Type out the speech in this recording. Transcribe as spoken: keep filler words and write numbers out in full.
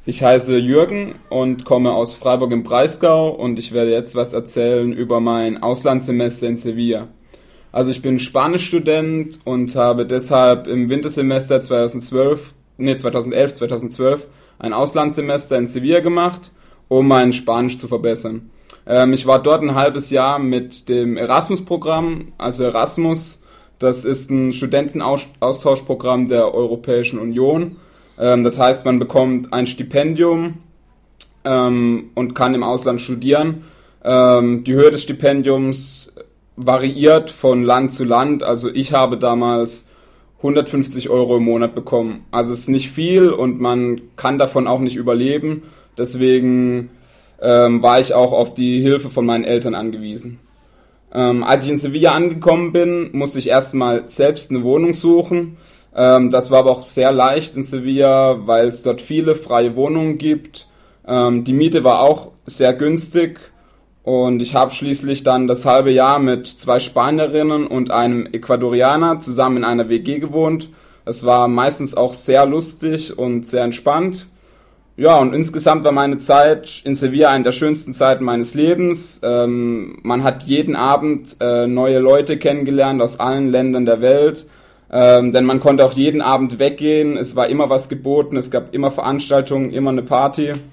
Ich heiße Jürgen und komme aus Freiburg im Breisgau und ich werde jetzt was erzählen über mein Auslandssemester in Sevilla. Also ich bin Spanischstudent und habe deshalb im Wintersemester zweitausendzwölf, nee, zweitausendelf, zweitausendzwölf ein Auslandssemester in Sevilla gemacht, um mein Spanisch zu verbessern. Ähm, ich war dort ein halbes Jahr mit dem Erasmus-Programm, also Erasmus, das ist ein Studentenaustauschprogramm der Europäischen Union. Ähm, das heißt, man bekommt ein Stipendium ähm, und kann im Ausland studieren. Ähm, die Höhe des Stipendiums variiert von Land zu Land. Also ich habe damals hundertfünfzig Euro im Monat bekommen. Also es ist nicht viel und man kann davon auch nicht überleben. Deswegen ähm, war ich auch auf die Hilfe von meinen Eltern angewiesen. Ähm, als ich in Sevilla angekommen bin, musste ich erstmal selbst eine Wohnung suchen. Ähm, das war aber auch sehr leicht in Sevilla, weil es dort viele freie Wohnungen gibt. Ähm, die Miete war auch sehr günstig und ich habe schließlich dann das halbe Jahr mit zwei Spanierinnen und einem Ecuadorianer zusammen in einer W G gewohnt. Es war meistens auch sehr lustig und sehr entspannt. Ja, und insgesamt war meine Zeit in Sevilla eine der schönsten Zeiten meines Lebens. Ähm, man hat jeden Abend äh, neue Leute kennengelernt aus allen Ländern der Welt. Ähm, denn man konnte auch jeden Abend weggehen, es war immer was geboten, es gab immer Veranstaltungen, immer eine Party.